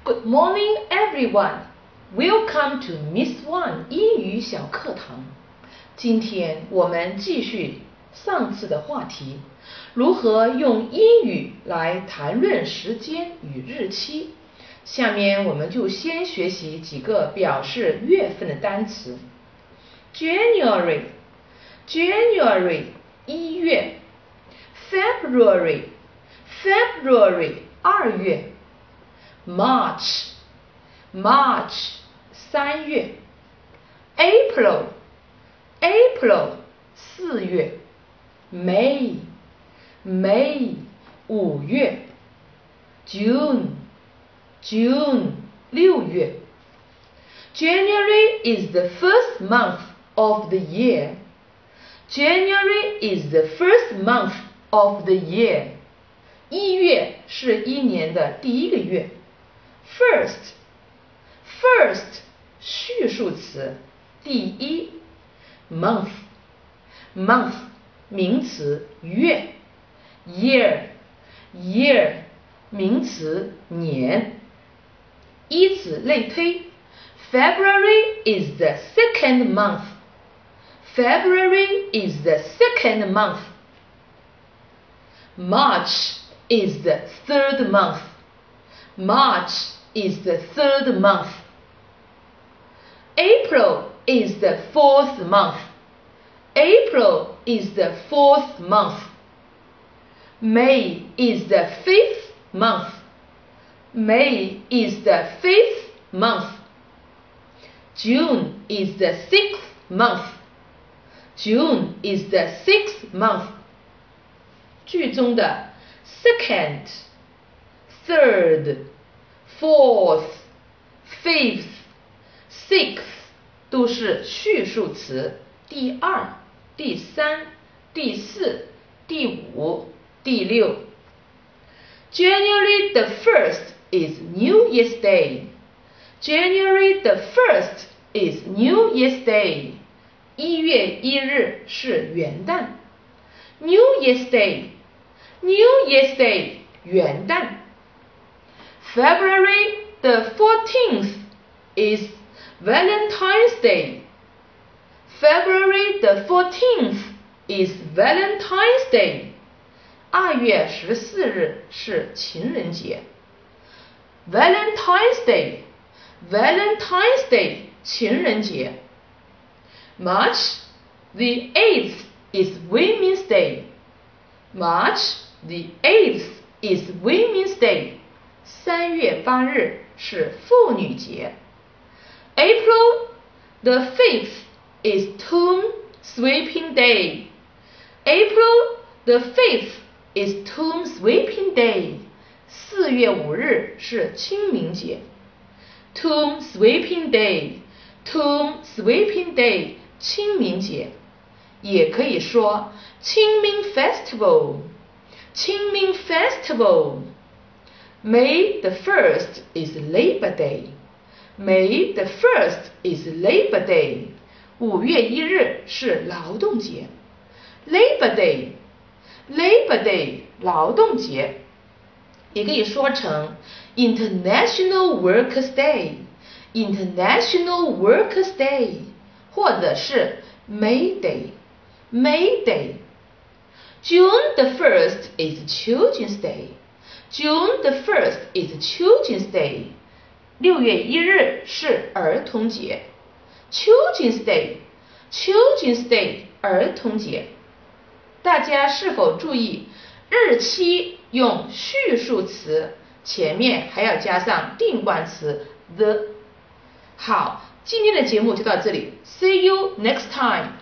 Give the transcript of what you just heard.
Good morning, everyone. Welcome to Miss One 英语小课堂。今天我们继续上次的话题，如何用英语来谈论时间与日期。下面我们就先学习几个表示月份的单词。January 1月。February 2月。March 3月。April 4月。May 5月。June 6月。January is the first month of the year. January is the first month of the year. 1月是一年的第一个月。First 序数词，第一。Month 名词，月。Year 名词，年。以此类推。February is the second month. February is the second month. March is the third month. March is the third month. April is the fourth month. April is the fourth month. May is the fifth month. May is the fifth month. June is the sixth month. June is the sixth month. 句中的 second, third, fourth, fifth, sixth 都是序数词，第二、第三、第四、第五、第六。January the 1st is New Year's Day. January the 1st is New Year's Day. 1月1日是元旦。New Year's Day 元旦。February the 14th is Valentine's Day. February the 14th is Valentine's Day. 2月14日是情人节。Valentine's Day 情人节。March the 8th is Women's Day. March the 8th is Women's Day. 3月8日是妇女节。April the 5th is Tomb Sweeping Day. April the 5th is Tomb Sweeping Day. 4月5日是清明节。Tomb Sweeping Day 清明节。也可以说清明 Festival. May the 1st is Labor Day. May the 1st is Labor Day. 5月1日是劳动节。Labor Day 劳动节。也可以說成 International Workers' Day. 或者是 May Day. June the 1st is Children's Day. June the 1st is Children's Day. 6月1日是儿童节。Children's Day 儿童节。大家是否注意日期用序数词，前面还要加上定冠词 the。 好，今天的节目就到这里。See you next time.